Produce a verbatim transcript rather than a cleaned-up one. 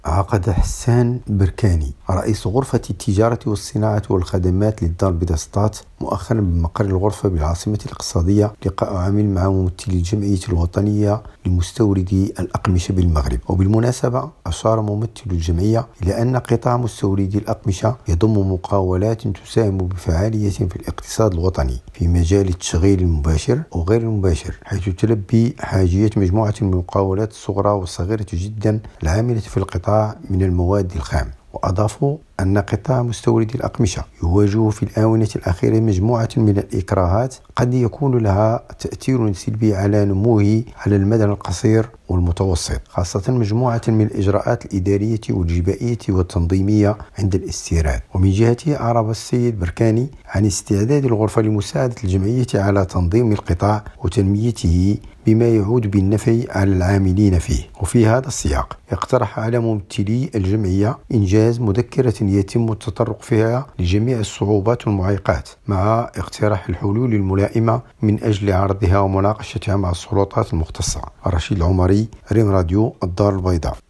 عقد حسان بركاني رئيس غرفة التجارة والصناعة والخدمات للدار البيضاء سطات مؤخرا بمقر الغرفة بالعاصمة الاقتصادية لقاء عامل مع ممثلي الجمعية الوطنية لمستوردي الأقمشة بالمغرب. وبالمناسبة أشار ممثل الجمعية إلى أن قطاع مستوردي الأقمشة يضم مقاولات تساهم بفعالية في الاقتصاد الوطني في مجال التشغيل المباشر وغير المباشر، حيث تلبي حاجية مجموعة من المقاولات الصغرى والصغيرة جدا العاملة في القطاع من المواد الخام. وأضافوا أن قطاع مستوردي الأقمشة يواجه في الآونة الأخيرة مجموعة من الإكراهات قد يكون لها تأثير سلبي على نموه على المدى القصير والمتوسط، خاصة مجموعة من الإجراءات الإدارية والجبائية والتنظيمية عند الاستيراد. ومن جهته أعرب السيد بركاني عن استعداد الغرفة لمساعدة الجمعية على تنظيم القطاع وتنميته بما يعود بالنفع على العاملين فيه. وفي هذا السياق اقترح على ممثلي الجمعية إنجاز مذكرة يتم التطرق فيها لجميع الصعوبات والمعيقات مع اقتراح الحلول الملائمة من أجل عرضها ومناقشتها مع السلطات المختصة. رشيد العمري، ريم راديو، الدار البيضاء.